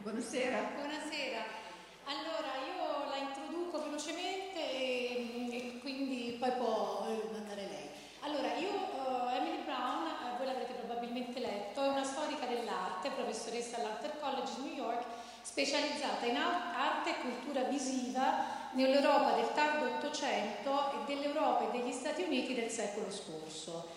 Buonasera. Buonasera. Allora, io la introduco velocemente e quindi poi può andare lei. Allora, Emily Brown, voi l'avrete probabilmente letto, è una storica dell'arte, professoressa all'Arthur College di New York, specializzata in arte e cultura visiva nell'Europa del tardo Ottocento e dell'Europa e degli Stati Uniti del secolo scorso.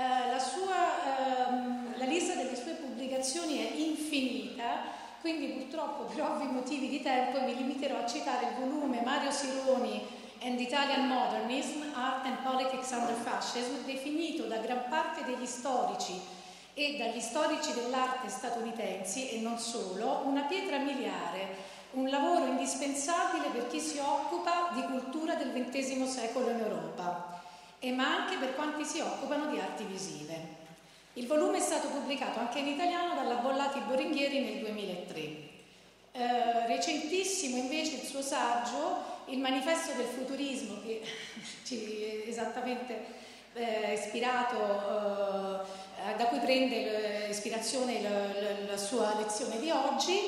La lista delle sue pubblicazioni è infinita, quindi purtroppo per ovvi motivi di tempo mi limiterò a citare il volume Mario Sironi and Italian Modernism, Art and Politics Under Fascism, definito da gran parte degli storici e dagli storici dell'arte statunitensi e non solo, una pietra miliare, un lavoro indispensabile per chi si occupa di cultura del XX secolo in Europa, ma anche per quanti si occupano di arti visive. Il volume è stato pubblicato anche in italiano dalla Bollati Boringhieri nel 2003. Recentissimo invece il suo saggio, Il manifesto del futurismo, che ci esattamente ispirato, da cui prende ispirazione la sua lezione di oggi,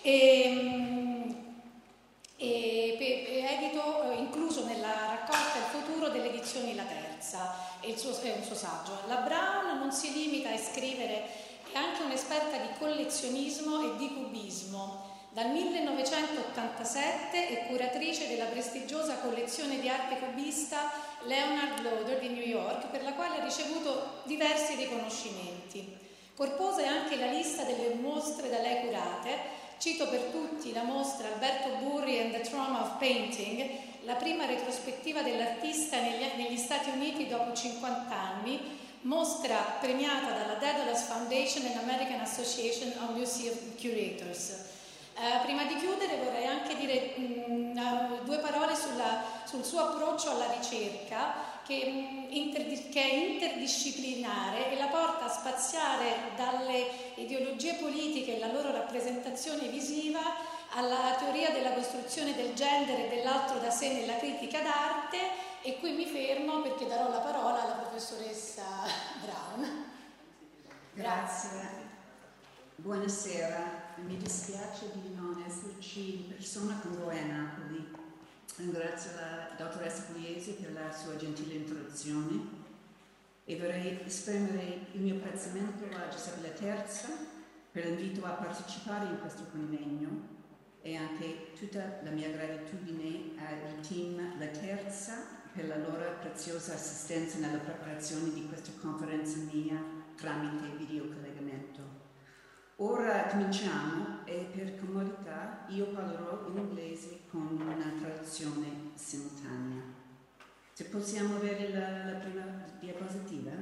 edito, incluso nella raccolta Il futuro delle edizioni La Terza, è un suo saggio. La Brown non si limita a scrivere, è anche un'esperta di collezionismo e di cubismo. Dal 1987 è curatrice della prestigiosa collezione di arte cubista Leonard Lauder di New York, per la quale ha ricevuto diversi riconoscimenti. Corposa è anche la lista delle mostre da lei curate. Cito per tutti la mostra Alberto Burri and the Trauma of Painting, la prima retrospettiva dell'artista negli Stati Uniti dopo 50 anni, mostra premiata dalla Daedalus Foundation and American Association of Museum Curators. Prima di chiudere vorrei anche dire due parole sul suo approccio alla ricerca, che è interdisciplinare e la porta a spaziare dalle ideologie politiche e la loro rappresentazione visiva alla teoria della costruzione del genere e dell'altro da sé nella critica d'arte, e qui mi fermo perché darò la parola alla professoressa Brown. Grazie. Buonasera. Mi dispiace di non esserci in persona con voi a Napoli. Ringrazio la dottoressa Pugliese per la sua gentile introduzione e vorrei esprimere il mio apprezzamento a Giuseppe La Terza per l'invito a partecipare in questo convegno e anche tutta la mia gratitudine al team La Terza per la loro preziosa assistenza nella preparazione di questa conferenza mia tramite videocollegamento. Ora cominciamo e per comodità io parlerò in inglese con una traduzione simultanea. Se possiamo avere la prima diapositiva.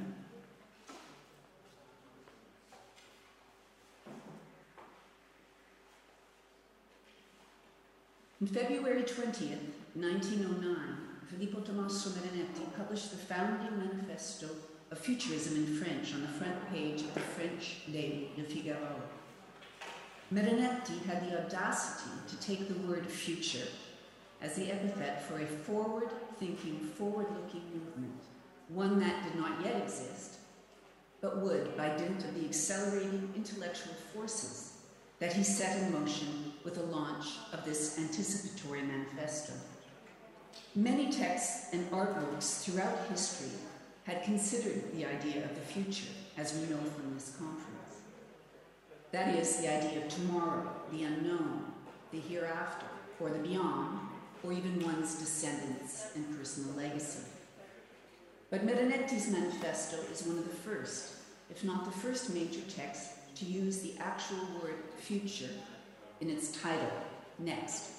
On February 20th, 1909, Filippo Tommaso Marinetti published the founding manifesto of Futurism in French on the front page of the French Le Figaro. Marinetti had the audacity to take the word future as the epithet for a forward-thinking, forward-looking movement, one that did not yet exist, but would, by dint of the accelerating intellectual forces that he set in motion with the launch of this anticipatory manifesto. Many texts and artworks throughout history had considered the idea of the future, as we know from this conference. That is, the idea of tomorrow, the unknown, the hereafter, or the beyond, or even one's descendants and personal legacy. But Marinetti's manifesto is one of the first, if not the first major text to use the actual word future in its title, next.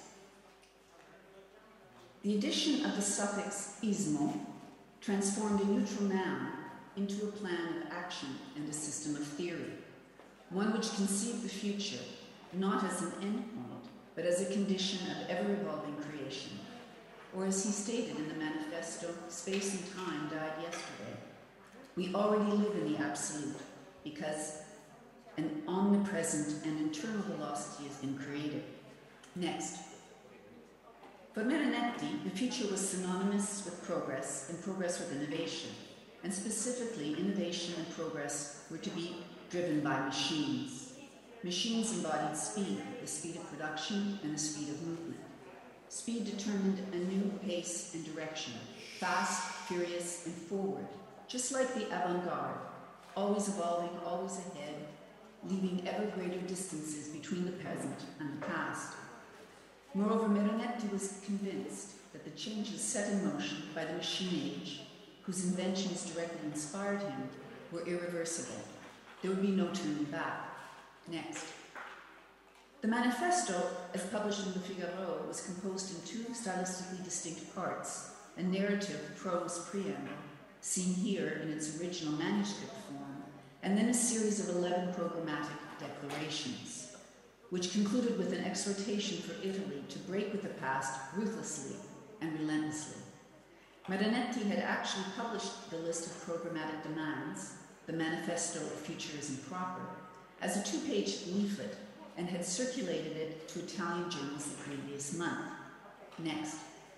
The addition of the suffix ismo transformed a neutral noun into a plan of action and a system of theory, one which conceived the future not as an endpoint, but as a condition of ever-evolving creation. Or as he stated in the manifesto, space and time died yesterday. We already live in the absolute because an omnipresent and eternal velocity has been created. Next. For Marinetti, the future was synonymous with progress and progress with innovation, and specifically innovation and progress were to be driven by machines. Machines embodied speed, the speed of production and the speed of movement. Speed determined a new pace and direction, fast, furious, and forward, just like the avant-garde, always evolving, always ahead, leaving ever greater distances between the present and the past. Moreover, Marinetti was convinced that the changes set in motion by the machine age, whose inventions directly inspired him, were irreversible. There would be no turning back. Next. The manifesto, as published in Le Figaro, was composed in two stylistically distinct parts, a narrative prose preamble, seen here in its original manuscript form, and then a series of 11 programmatic declarations, which concluded with an exhortation for Italy to break with the past ruthlessly and relentlessly. Marinetti had actually published the list of programmatic demands, the Manifesto of Futurism proper, as a 2-page leaflet, and had circulated it to Italian journals the previous month. Next.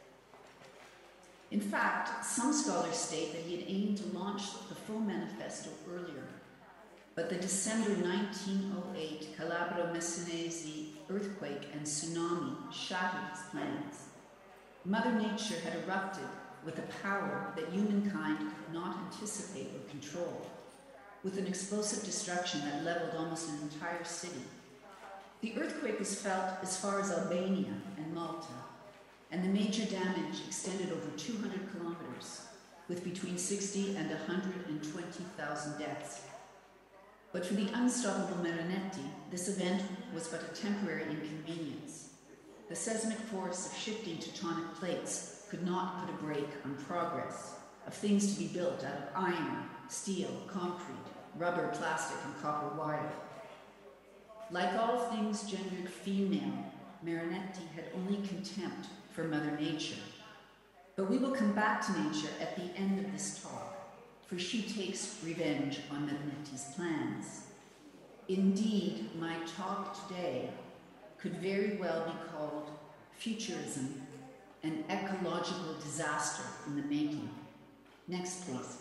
In fact, some scholars state that he had aimed to launch the full manifesto earlier, but the December 1908 Calabro-Messinese earthquake and tsunami shattered his plans. Mother Nature had erupted with a power that humankind could not anticipate or control, with an explosive destruction that leveled almost an entire city. The earthquake was felt as far as Albania and Malta, and the major damage extended over 200 kilometers, with between 60 and 120,000 deaths. But for the unstoppable Marinetti, this event was but a temporary inconvenience. The seismic force of shifting tectonic plates could not put a brake on progress, of things to be built out of iron, steel, concrete, rubber, plastic, and copper wire. Like all things gendered female, Marinetti had only contempt for Mother Nature. But we will come back to nature at the end of this talk, for she takes revenge on Marinetti's plans. Indeed, my talk today could very well be called Futurism, an ecological disaster in the making. Next, please.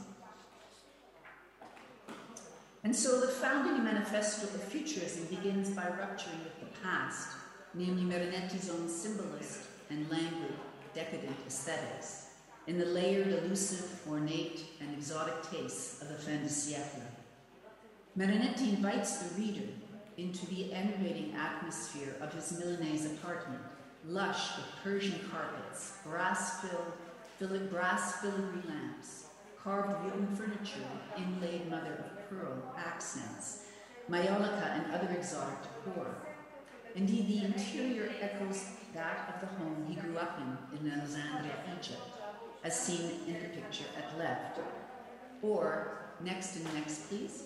And so the founding manifesto of Futurism begins by rupturing with the past, namely Marinetti's own symbolist and languid, decadent aesthetics, in the layered, elusive, ornate, and exotic tastes of the fin de siècle. Marinetti invites the reader into the enervating atmosphere of his Milanese apartment, lush with Persian carpets, brass-filigree lamps, carved wooden furniture, inlaid mother-of-pearl accents, maiolica and other exotic decor. Indeed, the interior echoes that of the home he grew up in Alexandria, Egypt, as seen in the picture at left. Or, next and next, please.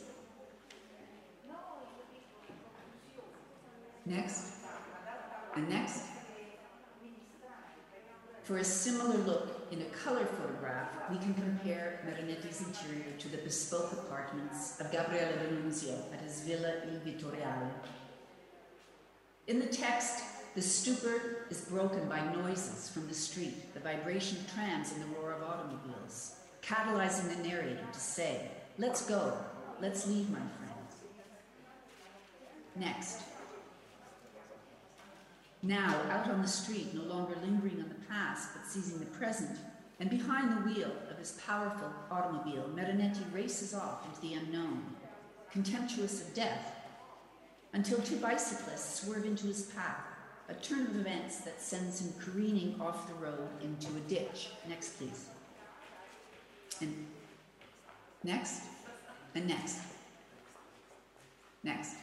Next, and next. For a similar look in a color photograph, we can compare Marinetti's interior to the bespoke apartments of Gabriele D'Annunzio at his Villa Il Vittoriale. In the text, the stupor is broken by noises from the street, the vibration of trams and the roar of automobiles, catalyzing the narrator to say, "Let's go, let's leave, my friends." Next. Now, out on the street, no longer lingering on the past, but seizing the present, and behind the wheel of his powerful automobile, Marinetti races off into the unknown, contemptuous of death, until two bicyclists swerve into his path, a turn of events that sends him careening off the road into a ditch. Next, please. And next, and next. Next.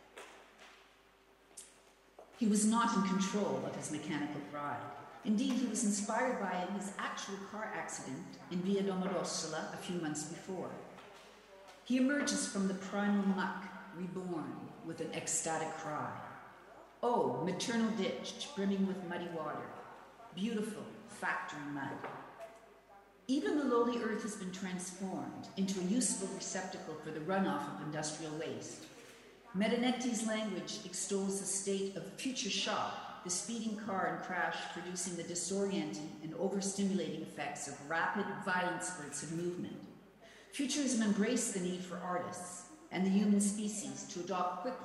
He was not in control of his mechanical bride. Indeed, he was inspired by his actual car accident in Via Domodossola a few months before. He emerges from the primal muck, reborn with an ecstatic cry. Oh, maternal ditch brimming with muddy water, beautiful factory mud. Even the lowly earth has been transformed into a useful receptacle for the runoff of industrial waste. Marinetti's language extols the state of future shock, the speeding car and crash producing the disorienting and overstimulating effects of rapid, violent spurts of movement. Futurism embraced the need for artists and the human species to adapt quickly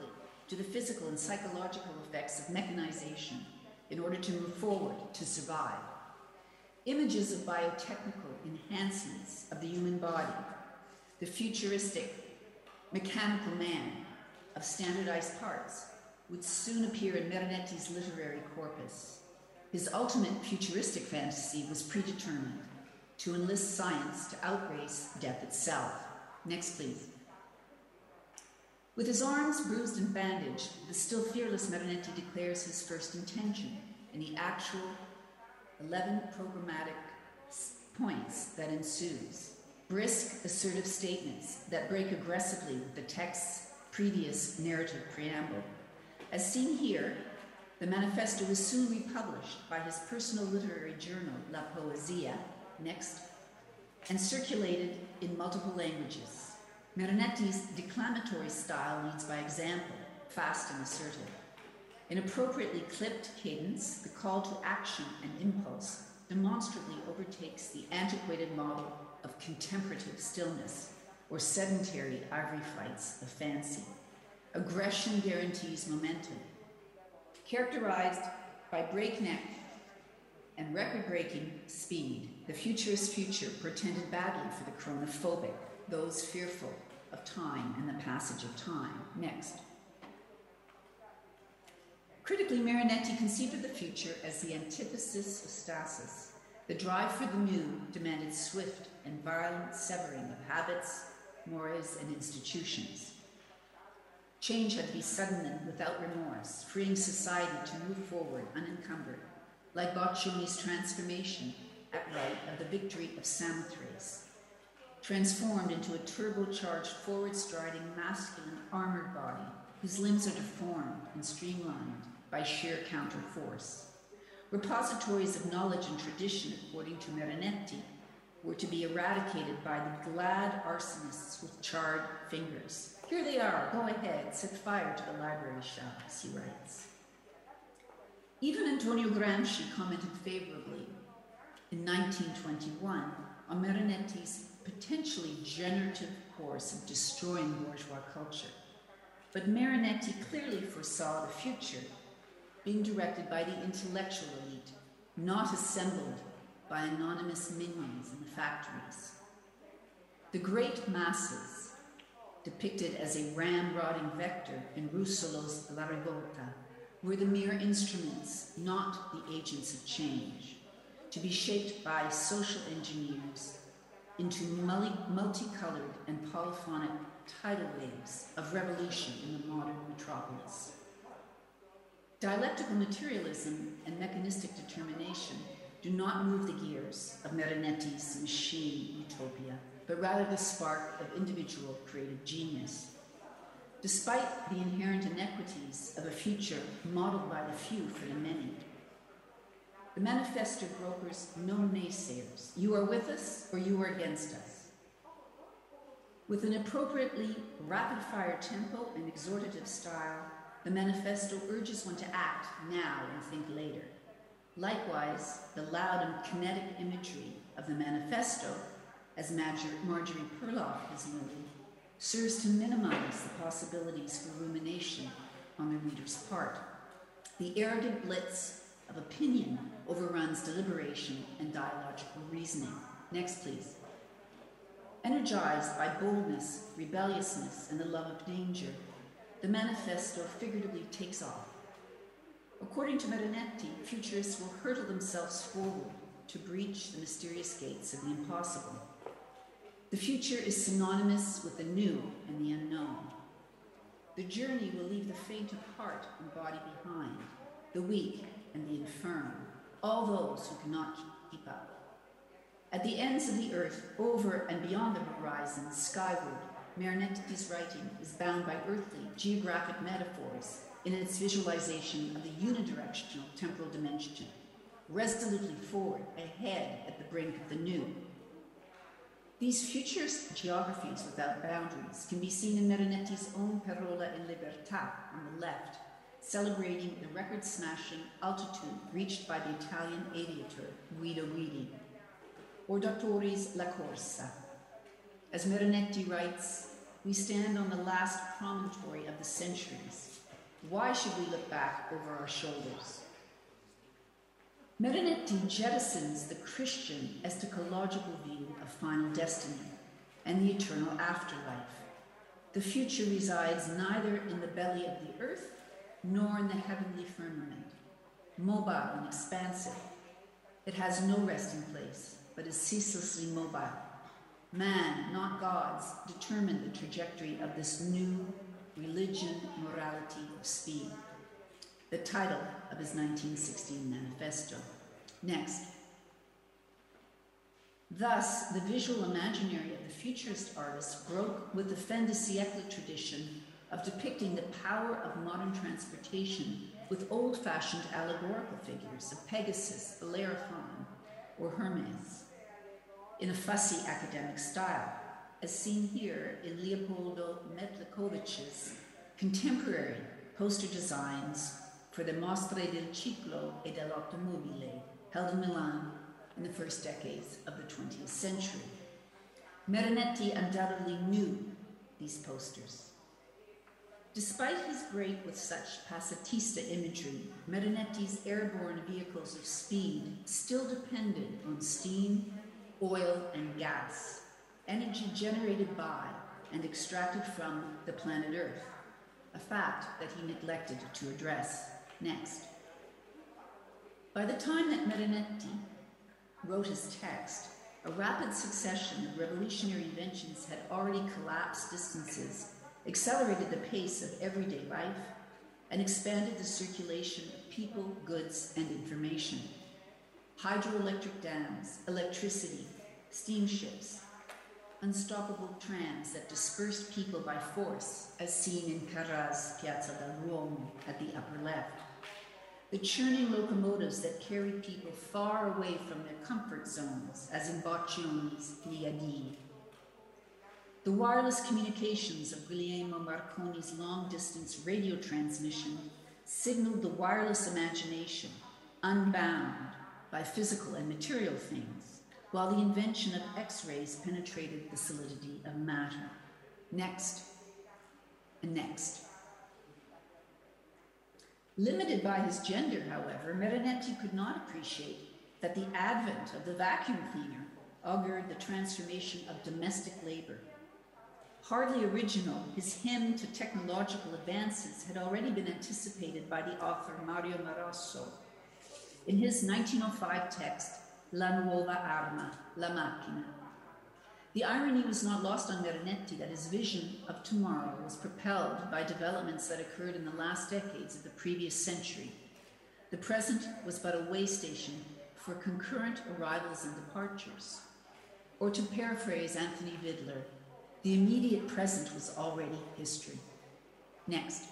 to the physical and psychological effects of mechanization in order to move forward, to survive. Images of biotechnical enhancements of the human body, the futuristic mechanical man of standardized parts, would soon appear in Marinetti's literary corpus. His ultimate futuristic fantasy was predetermined: to enlist science to outrace death itself. Next, please. With his arms bruised and bandaged, the still fearless Marinetti declares his first intention in the actual 11 programmatic points that ensues. Brisk, assertive statements that break aggressively with the text's previous narrative preamble. As seen here, the manifesto was soon republished by his personal literary journal, La Poesia, next, and circulated in multiple languages. Marinetti's declamatory style leads by example, fast and assertive. In appropriately clipped cadence, the call to action and impulse demonstrably overtakes the antiquated model of contemplative stillness or sedentary ivory flights of fancy. Aggression guarantees momentum. Characterized by breakneck and record-breaking speed, the futurist future portended badly for the chronophobic, those fearful of time and the passage of time. Next. Critically, Marinetti conceived of the future as the antithesis of stasis. The drive for the new demanded swift and violent severing of habits, mores, and institutions. Change had to be sudden and without remorse, freeing society to move forward unencumbered, like Boccioni's transformation at right of the victory of Samothrace, transformed into a turbocharged, forward-striding, masculine, armored body whose limbs are deformed and streamlined by sheer counterforce. Repositories of knowledge and tradition, according to Marinetti, were to be eradicated by the glad arsonists with charred fingers. Here they are, go ahead, set fire to the library shelves, he writes. Even Antonio Gramsci commented favorably in 1921 on Marinetti's potentially generative course of destroying bourgeois culture. But Marinetti clearly foresaw the future being directed by the intellectual elite, not assembled by anonymous minions in the factories. The great masses, depicted as a ramrodding vector in Russolo's La Rivolta, were the mere instruments, not the agents of change, to be shaped by social engineers into multicolored and polyphonic tidal waves of revolution in the modern metropolis. Dialectical materialism and mechanistic determination do not move the gears of Marinetti's machine utopia, but rather the spark of individual creative genius. Despite the inherent inequities of a future modeled by the few for the many, the manifesto brokers no naysayers. You are with us or you are against us. With an appropriately rapid-fire tempo and exhortative style, the manifesto urges one to act now and think later. Likewise, the loud and kinetic imagery of the manifesto, as Marjorie Perloff has noted, serves to minimize the possibilities for rumination on the reader's part. The arrogant blitz of opinion overruns deliberation and dialogical reasoning. Next, please. Energized by boldness, rebelliousness, and the love of danger, the manifesto figuratively takes off. According to Marinetti, futurists will hurtle themselves forward to breach the mysterious gates of the impossible. The future is synonymous with the new and the unknown. The journey will leave the faint of heart and body behind, the weak and the infirm, all those who cannot keep up. At the ends of the earth, over and beyond the horizon, skyward, Marinetti's writing is bound by earthly, geographic metaphors in its visualization of the unidirectional temporal dimension, resolutely forward, ahead at the brink of the new. These futurist geographies without boundaries can be seen in Marinetti's own Parola e Libertà on the left, celebrating the record-smashing altitude reached by the Italian aviator Guido Guidi, or Dottori's La Corsa. As Marinetti writes, we stand on the last promontory of the centuries, Why should we look back over our shoulders? Marinetti jettisons the Christian eschatological view of final destiny and the eternal afterlife. The future resides neither in the belly of the earth nor in the heavenly firmament, mobile and expansive. It has no resting place, but is ceaselessly mobile. Man, not gods, determine the trajectory of this new religion, morality of speed. The title of his 1916 manifesto. Next. Thus, the visual imaginary of the futurist artist broke with the fin de siècle tradition of depicting the power of modern transportation with old-fashioned allegorical figures of Pegasus, Bellerophon, or Hermes, in a fussy academic style, as seen here in Leopoldo Metlikovich's contemporary poster designs for the Mostre del Ciclo e dell'Automobile, held in Milan in the first decades of the 20th century. Marinetti undoubtedly knew these posters. Despite his break with such pacifista imagery, Marinetti's airborne vehicles of speed still depended on steam, oil, and gas, energy generated by and extracted from the planet Earth, a fact that he neglected to address. Next. By the time that Marinetti wrote his text, a rapid succession of revolutionary inventions had already collapsed distances, accelerated the pace of everyday life, and expanded the circulation of people, goods, and information. Hydroelectric dams, electricity, steamships, unstoppable trams that dispersed people by force, as seen in Carrà's Piazza del Duomo at the upper left. The churning locomotives that carried people far away from their comfort zones, as in Boccioni's Pliadi. The wireless communications of Guglielmo Marconi's long-distance radio transmission signaled the wireless imagination, unbound by physical and material things, while the invention of X-rays penetrated the solidity of matter. Next, and next. Limited by his gender, however, Marinetti could not appreciate that the advent of the vacuum cleaner augured the transformation of domestic labor. Hardly original, his hymn to technological advances had already been anticipated by the author Mario Marasso. In his 1905 text, La Nuova Arma, La Macchina. The irony was not lost on Marinetti that his vision of tomorrow was propelled by developments that occurred in the last decades of the previous century. The present was but a way station for concurrent arrivals and departures. Or to paraphrase Anthony Vidler, the immediate present was already history. Next.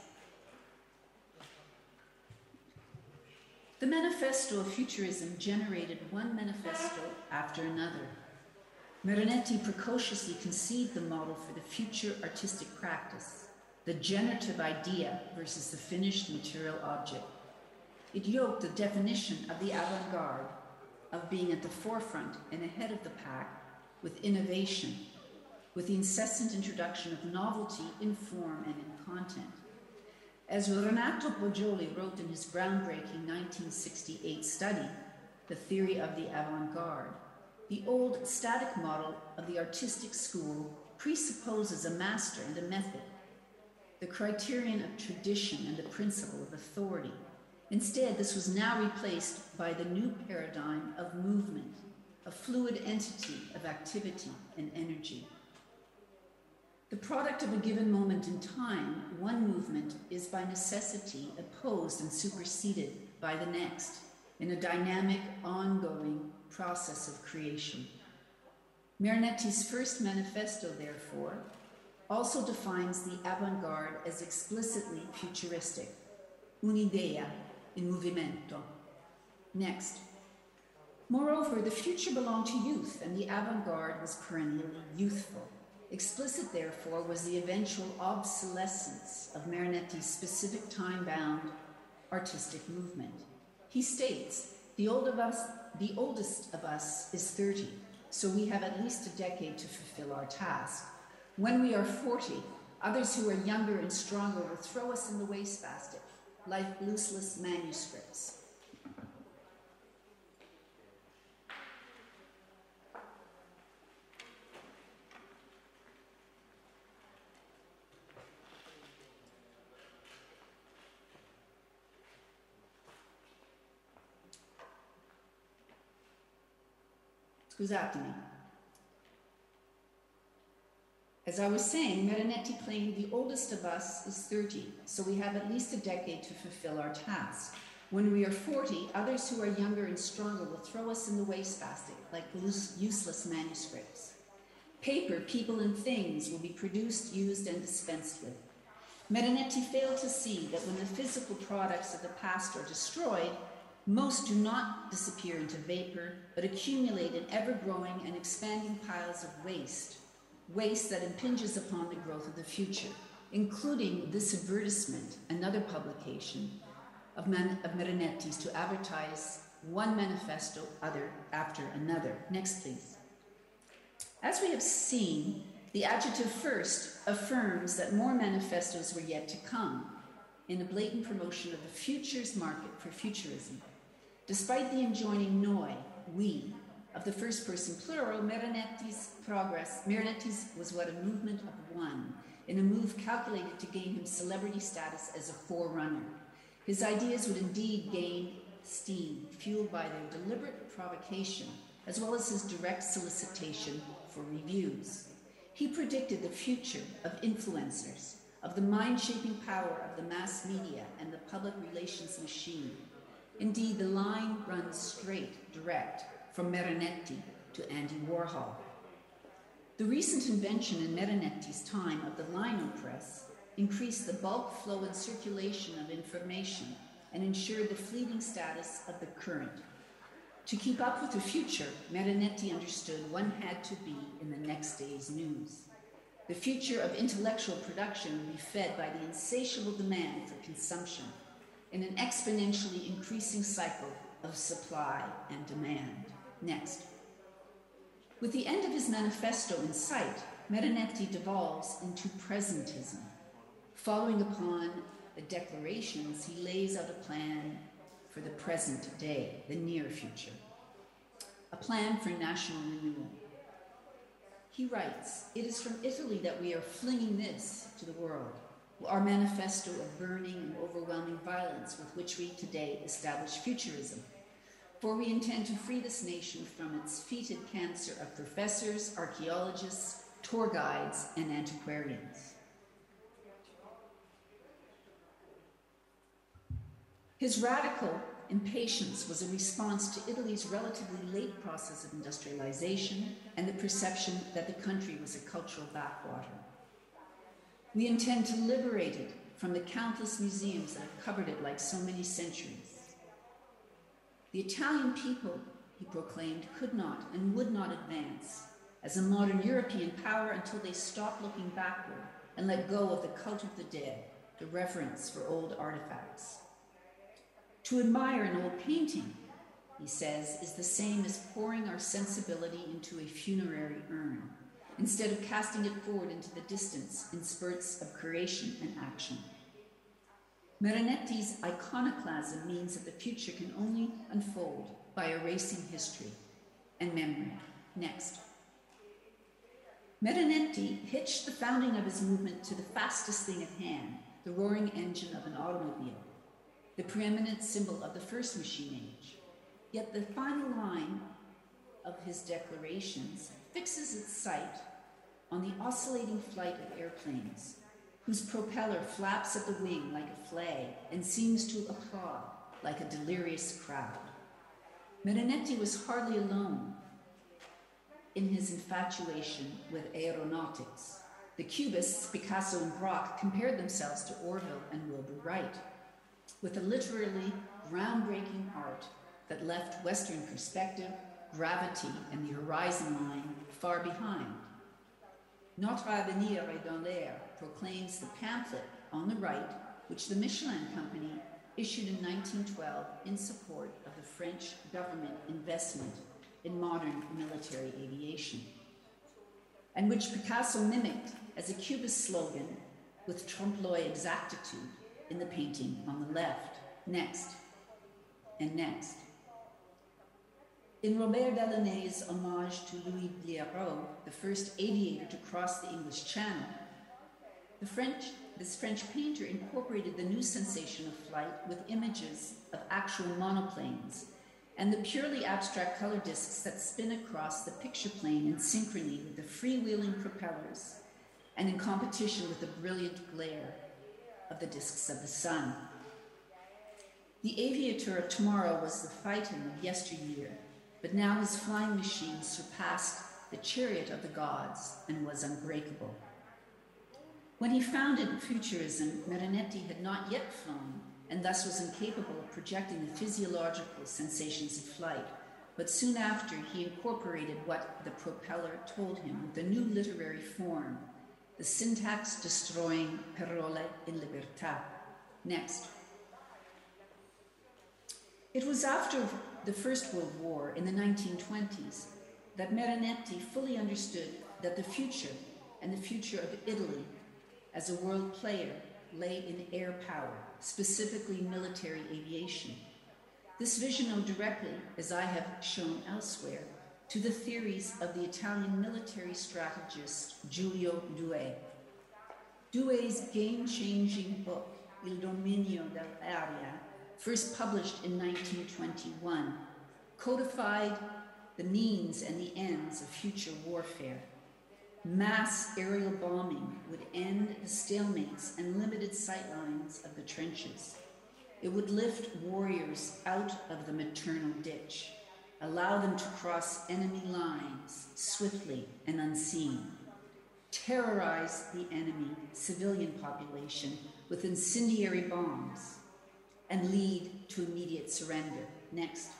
The Manifesto of Futurism generated one manifesto after another. Marinetti precociously conceived the model for the future artistic practice, the generative idea versus the finished material object. It yoked the definition of the avant-garde, of being at the forefront and ahead of the pack, with innovation, with the incessant introduction of novelty in form and in content. As Renato Poggioli wrote in his groundbreaking 1968 study, The Theory of the Avant-Garde, the old static model of the artistic school presupposes a master and a method, the criterion of tradition and the principle of authority. Instead, this was now replaced by the new paradigm of movement, a fluid entity of activity and energy. The product of a given moment in time, one movement is by necessity opposed and superseded by the next in a dynamic, ongoing process of creation. Marinetti's first manifesto, therefore, also defines the avant-garde as explicitly futuristic, un'idea in movimento. Next. Moreover, the future belonged to youth, and the avant-garde was perennially youthful. Explicit, therefore, was the eventual obsolescence of Marinetti's specific time-bound artistic movement. He states, the oldest of us is 30, so we have at least a decade to fulfill our task. When we are 40, Others who are younger and stronger will throw us in the wastebasket, like useless manuscripts. Scusatemi. As I was saying, Marinetti claimed the oldest of us is 30, so we have at least a decade to fulfill our task. When we are 40, others who are younger and stronger will throw us in the wastebasket like useless manuscripts. Paper, people, and things will be produced, used, and dispensed with. Marinetti failed to see that when the physical products of the past are destroyed, most do not disappear into vapor, but accumulate in ever-growing and expanding piles of waste that impinges upon the growth of the future, including this advertisement, another publication of Marinetti's, to advertise one manifesto after another. Next, please. As we have seen, the adjective first affirms that more manifestos were yet to come in a blatant promotion of the futures market for futurism. Despite the enjoining noi, we, of the first person plural, Marinetti's was what a movement of one, in a move calculated to gain him celebrity status as a forerunner. His ideas would indeed gain steam, fueled by their deliberate provocation, as well as his direct solicitation for reviews. He predicted the future of influencers, of the mind-shaping power of the mass media and the public relations machine. Indeed, the line runs straight, direct, from Marinetti to Andy Warhol. The recent invention in Marinetti's time of the lino press increased the bulk flow and circulation of information and ensured the fleeting status of the current. To keep up with the future, Marinetti understood one had to be in the next day's news. The future of intellectual production would be fed by the insatiable demand for consumption in an exponentially increasing cycle of supply and demand. Next. With the end of his manifesto in sight, Marinetti devolves into presentism. Following upon the declarations, he lays out a plan for the present day, the near future, a plan for national renewal. He writes, "It is from Italy that we are flinging this to the world, our manifesto of burning and overwhelming violence with which we today establish futurism. For we intend to free this nation from its fetid cancer of professors, archaeologists, tour guides, and antiquarians." His radical impatience was a response to Italy's relatively late process of industrialization and the perception that the country was a cultural backwater. "We intend to liberate it from the countless museums that have covered it like so many centuries. The Italian people," he proclaimed, "could not and would not advance as a modern European power until they stopped looking backward and let go of the cult of the dead, the reverence for old artifacts. To admire an old painting," he says, "is the same as pouring our sensibility into a funerary urn, instead of casting it forward into the distance in spurts of creation and action." Marinetti's iconoclasm means that the future can only unfold by erasing history and memory. Next. Marinetti hitched the founding of his movement to the fastest thing at hand, the roaring engine of an automobile, the preeminent symbol of the first machine age. Yet the final line of his declarations fixes its sight on the oscillating flight of airplanes, whose propeller flaps at the wing like a flag and seems to applaud like a delirious crowd. Marinetti was hardly alone in his infatuation with aeronautics. The Cubists, Picasso and Braque, compared themselves to Orville and Wilbur Wright, with a literally groundbreaking art that left Western perspective, gravity, and the horizon line far behind. Notre avenir est dans l'air proclaims the pamphlet on the right, which the Michelin Company issued in 1912 in support of the French government investment in modern military aviation, and which Picasso mimicked as a Cubist slogan with trompe-l'oeil exactitude in the painting on the left. Next, and next. In Robert Delaunay's homage to Louis Blériot, the first aviator to cross the English Channel, this French painter incorporated the new sensation of flight with images of actual monoplanes and the purely abstract color discs that spin across the picture plane in synchrony with the freewheeling propellers and in competition with the brilliant glare of the discs of the sun. The aviator of tomorrow was the Phaeton of yesteryear, but now his flying machine surpassed the chariot of the gods and was unbreakable. When he founded Futurism, Marinetti had not yet flown, and thus was incapable of projecting the physiological sensations of flight, but soon after he incorporated what the propeller told him with a new literary form, the syntax-destroying parole in libertà. Next. It was after the First World War in the 1920s that Marinetti fully understood that the future, and the future of Italy as a world player, lay in air power, specifically military aviation. This vision owed directly, as I have shown elsewhere, to the theories of the Italian military strategist Giulio Douhet. Douhet's game-changing book, Il dominio dell'aria, first published in 1921, codified the means and the ends of future warfare. Mass aerial bombing would end the stalemates and limited sightlines of the trenches. It would lift warriors out of the maternal ditch, allow them to cross enemy lines swiftly and unseen, terrorize the enemy civilian population with incendiary bombs, and lead to immediate surrender. Next,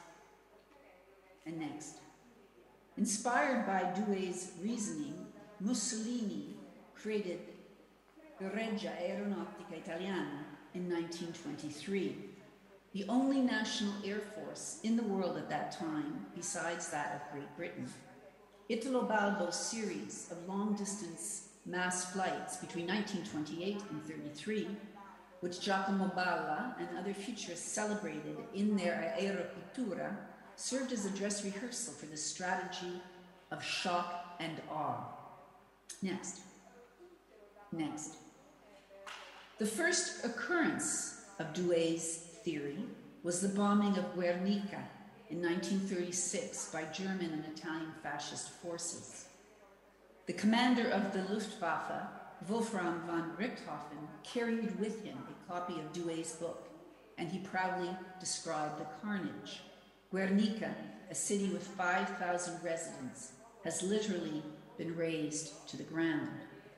and next. Inspired by Douhet's reasoning, Mussolini created the Regia Aeronautica Italiana in 1923, the only national air force in the world at that time besides that of Great Britain. Italo Balbo's series of long-distance mass flights between 1928 and 33, which Giacomo Balla and other futurists celebrated in their Aeropittura, served as a dress rehearsal for the strategy of shock and awe. Next. Next. The first occurrence of Douhet's theory was the bombing of Guernica in 1936 by German and Italian fascist forces. The commander of the Luftwaffe, Wolfram von Richthofen, carried with him a copy of Douhet's book, and he proudly described the carnage. Guernica, a city with 5,000 residents, has literally been razed to the ground.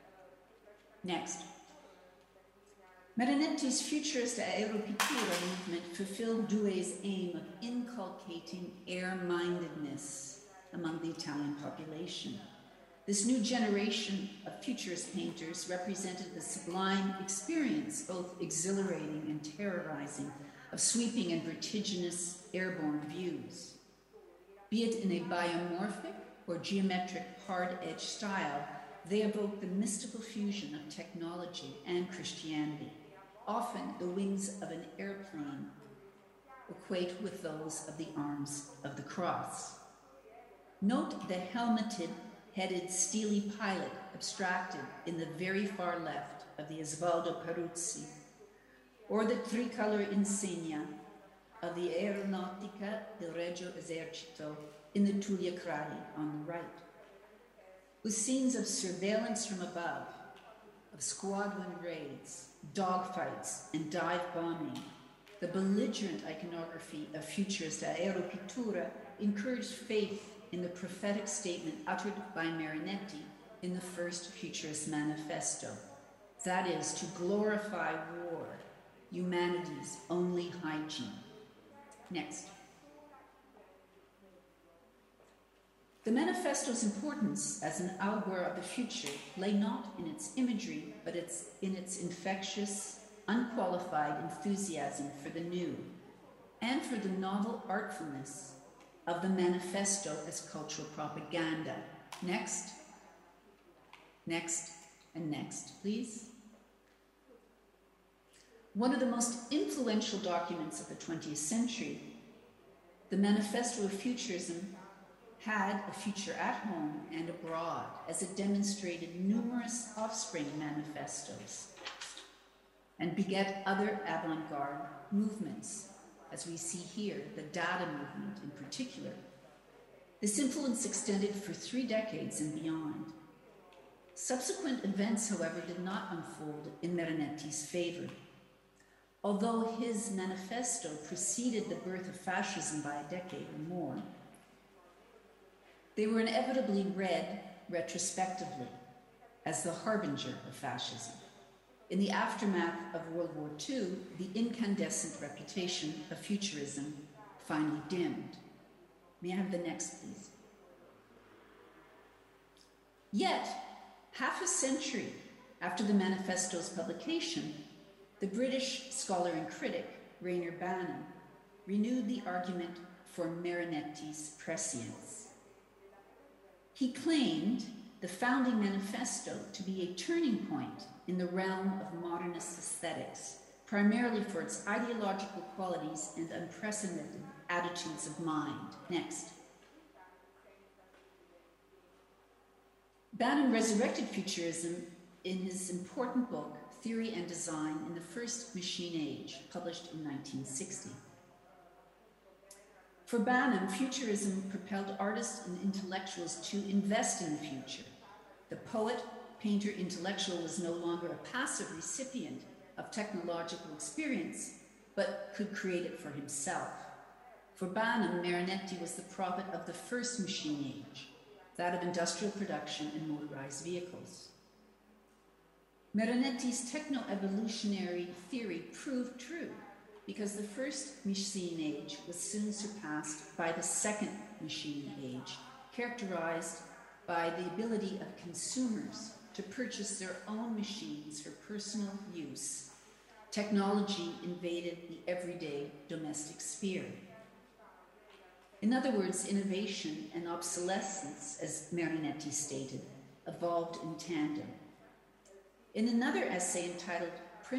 Next. Marinetti's futurist Aeropittura movement fulfilled Douhet's aim of inculcating air-mindedness among the Italian population. This new generation of futurist painters represented the sublime experience, both exhilarating and terrorizing, of sweeping and vertiginous airborne views. Be it in a biomorphic or geometric hard-edged style, they evoke the mystical fusion of technology and Christianity. Often the wings of an airplane equate with those of the arms of the cross. Note the helmeted-headed steely pilot abstracted in the very far left of the Osvaldo Peruzzi, or the tricolor insignia of the Aeronautica del Regio Esercito in the Tullia Cradi on the right. With scenes of surveillance from above, of squadron raids, dogfights, and dive bombing, the belligerent iconography of futurist Aeropittura encouraged faith in the prophetic statement uttered by Marinetti in the first Futurist Manifesto. That is, to glorify war, humanity's only hygiene. Next. The manifesto's importance as an augur of the future lay not in its imagery, but in its infectious, unqualified enthusiasm for the new, and for the novel artfulness of the manifesto as cultural propaganda. Next, next, and next, please. One of the most influential documents of the 20th century, the Manifesto of Futurism, had a future at home and abroad, as it demonstrated numerous offspring manifestos and beget other avant-garde movements, as we see here, the Dada movement in particular. This influence extended for 3 decades and beyond. Subsequent events, however, did not unfold in Meronetti's favor. Although his manifesto preceded the birth of fascism by a decade or more, they were inevitably read retrospectively as the harbinger of fascism. In the aftermath of World War II, the incandescent reputation of futurism finally dimmed. May I have the next, please? Yet, half a century after the manifesto's publication, the British scholar and critic Rayner Banham renewed the argument for Meronetti's prescience. He claimed the founding manifesto to be a turning point in the realm of modernist aesthetics, primarily for its ideological qualities and unprecedented attitudes of mind. Next. Banham resurrected futurism in his important book, Theory and Design in the First Machine Age, published in 1960. For Banham, futurism propelled artists and intellectuals to invest in the future. The poet, painter, intellectual was no longer a passive recipient of technological experience, but could create it for himself. For Banham, Meronetti was the prophet of the first machine age, that of industrial production and motorized vehicles. Meronetti's techno-evolutionary theory proved true, because the first machine age was soon surpassed by the second machine age, characterized by the ability of consumers to purchase their own machines for personal use. Technology invaded the everyday domestic sphere. In other words, innovation and obsolescence, as Meronetti stated, evolved in tandem. In another essay entitled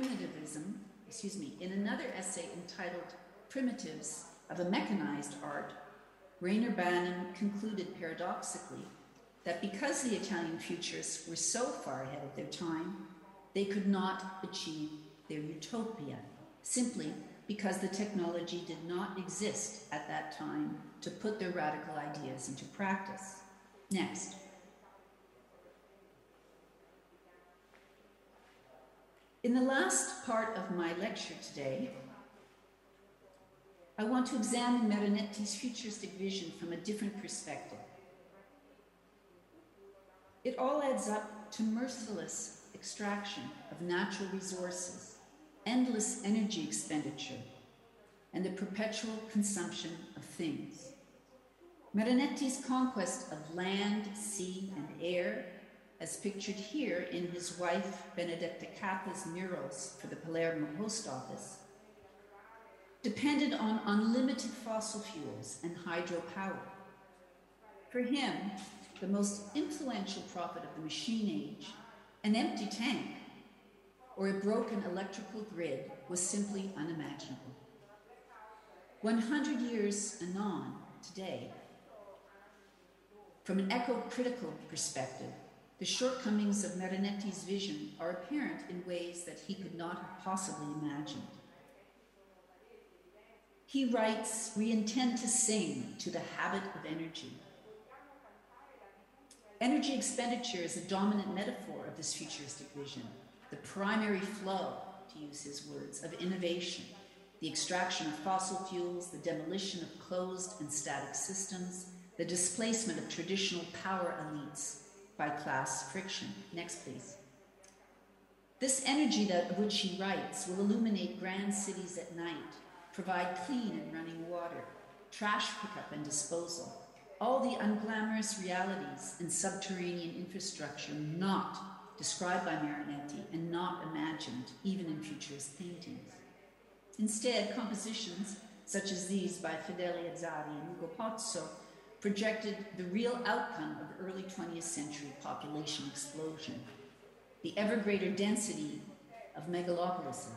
Primitives of a Mechanized Art, Rayner Banham concluded paradoxically that because the Italian futurists were so far ahead of their time, they could not achieve their utopia, simply because the technology did not exist at that time to put their radical ideas into practice. Next. In the last part of my lecture today, I want to examine Meronetti's futuristic vision from a different perspective. It all adds up to merciless extraction of natural resources, endless energy expenditure, and the perpetual consumption of things. Meronetti's conquest of land, sea, and air, as pictured here in his wife Benedetta Cappa's murals for the Palermo Post Office, depended on unlimited fossil fuels and hydropower. For him, the most influential prophet of the machine age, an empty tank or a broken electrical grid was simply unimaginable. 100 years anon, today, from an eco-critical perspective, the shortcomings of Meronetti's vision are apparent in ways that he could not have possibly imagined. He writes, "We intend to sing to the habit of energy." Energy expenditure is a dominant metaphor of this futuristic vision, the primary flow, to use his words, of innovation, the extraction of fossil fuels, the demolition of closed and static systems, the displacement of traditional power elites by class friction. Next, please. This energy of which he writes will illuminate grand cities at night, provide clean and running water, trash pickup and disposal, all the unglamorous realities and subterranean infrastructure not described by Meronetti and not imagined even in futurist paintings. Instead, compositions such as these by Fedele Azzari and Ugo Pozzo projected the real outcome of early 20th century population explosion, the ever greater density of megalopolises,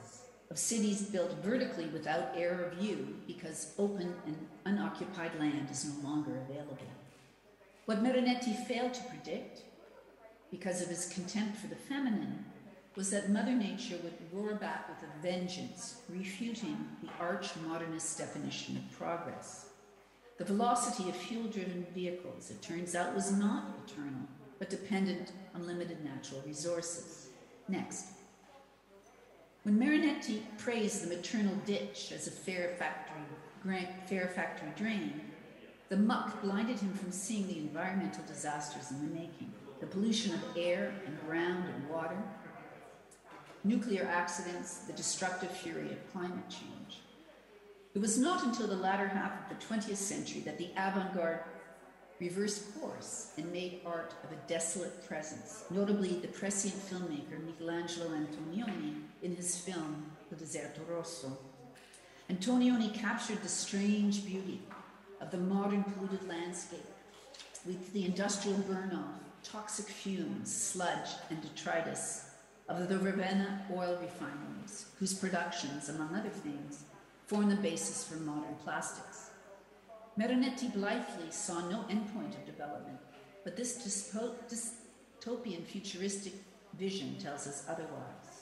of cities built vertically without air or view because open and unoccupied land is no longer available. What Marinetti failed to predict, because of his contempt for the feminine, was that Mother Nature would roar back with a vengeance, refuting the arch-modernist definition of progress. The velocity of fuel-driven vehicles, it turns out, was not eternal, but dependent on limited natural resources. Next. When Marinetti praised the maternal ditch as a fair factory drain, the muck blinded him from seeing the environmental disasters in the making, the pollution of air and ground and water, nuclear accidents, the destructive fury of climate change. It was not until the latter half of the 20th century that the avant-garde reversed course and made art of a desolate presence, notably the prescient filmmaker Michelangelo Antonioni in his film Il Deserto Rosso. Antonioni captured the strange beauty of the modern polluted landscape with the industrial burn-off, toxic fumes, sludge, and detritus of the Ravenna oil refineries, whose productions, among other things, form the basis for modern plastics. Marinetti blithely saw no endpoint of development, but this dystopian futuristic vision tells us otherwise.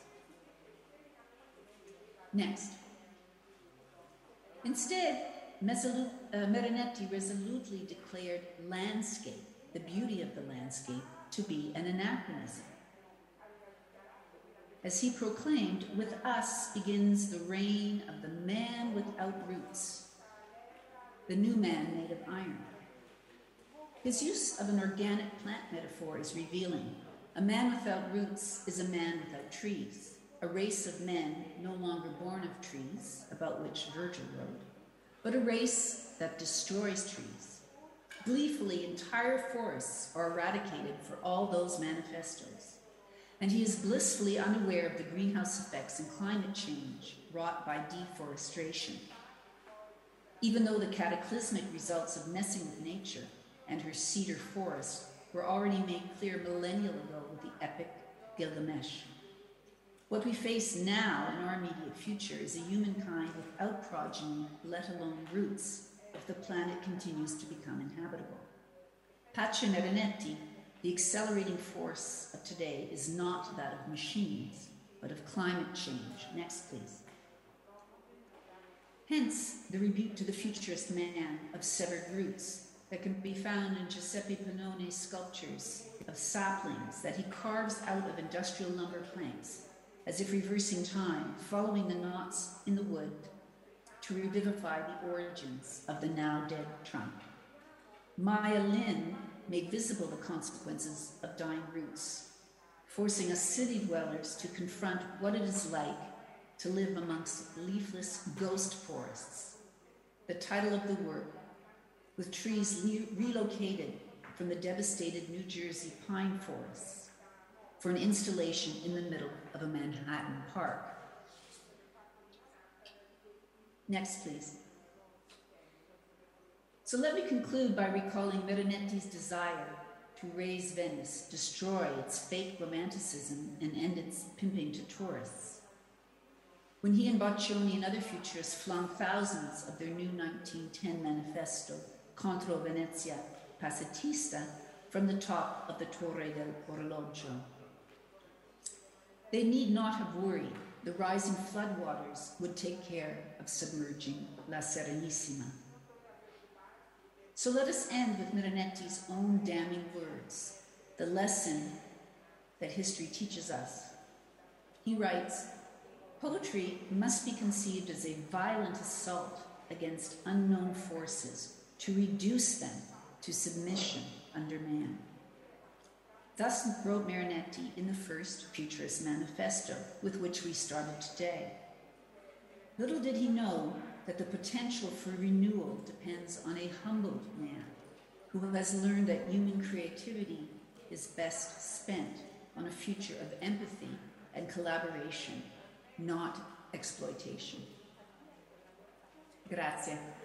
Next. Instead, Marinetti resolutely declared landscape, the beauty of the landscape, to be an anachronism. As he proclaimed, with us begins the reign of the man without roots, the new man made of iron. His use of an organic plant metaphor is revealing. A man without roots is a man without trees, a race of men no longer born of trees, about which Virgil wrote, but a race that destroys trees. Gleefully, entire forests are eradicated for all those manifestos, and he is blissfully unaware of the greenhouse effects and climate change wrought by deforestation. Even though the cataclysmic results of messing with nature and her cedar forest were already made clear millennia ago with the epic Gilgamesh. What we face now in our immediate future is a humankind without progeny, let alone roots, if the planet continues to become inhabitable. Pace Marinetti, the accelerating force of today, is not that of machines, but of climate change. Next, please. Hence, the rebuke to the futurist man of severed roots that can be found in Giuseppe Panone's sculptures of saplings that he carves out of industrial lumber planks, as if reversing time, following the knots in the wood to revivify the origins of the now dead trunk. Maya Lin made visible the consequences of dying roots, forcing us city dwellers to confront what it is like to live amongst leafless ghost forests. The title of the work, with trees relocated from the devastated New Jersey pine forests for an installation in the middle of a Manhattan park. Next, please. So let me conclude by recalling Marinetti's desire to raise Venice, destroy its fake romanticism, and end its pimping to tourists. When he and Boccioni and other futurists flung thousands of their new 1910 manifesto, Contro Venezia Pacifista, from the top of the Torre del Orologio. They need not have worried. The rising floodwaters would take care of submerging La Serenissima. So let us end with Marinetti's own damning words, the lesson that history teaches us. He writes, "Poetry must be conceived as a violent assault against unknown forces to reduce them to submission under man." Thus wrote Marinetti in the first Futurist Manifesto, with which we started today. Little did he know that the potential for renewal depends on a humbled man who has learned that human creativity is best spent on a future of empathy and collaboration, not exploitation. Grazie.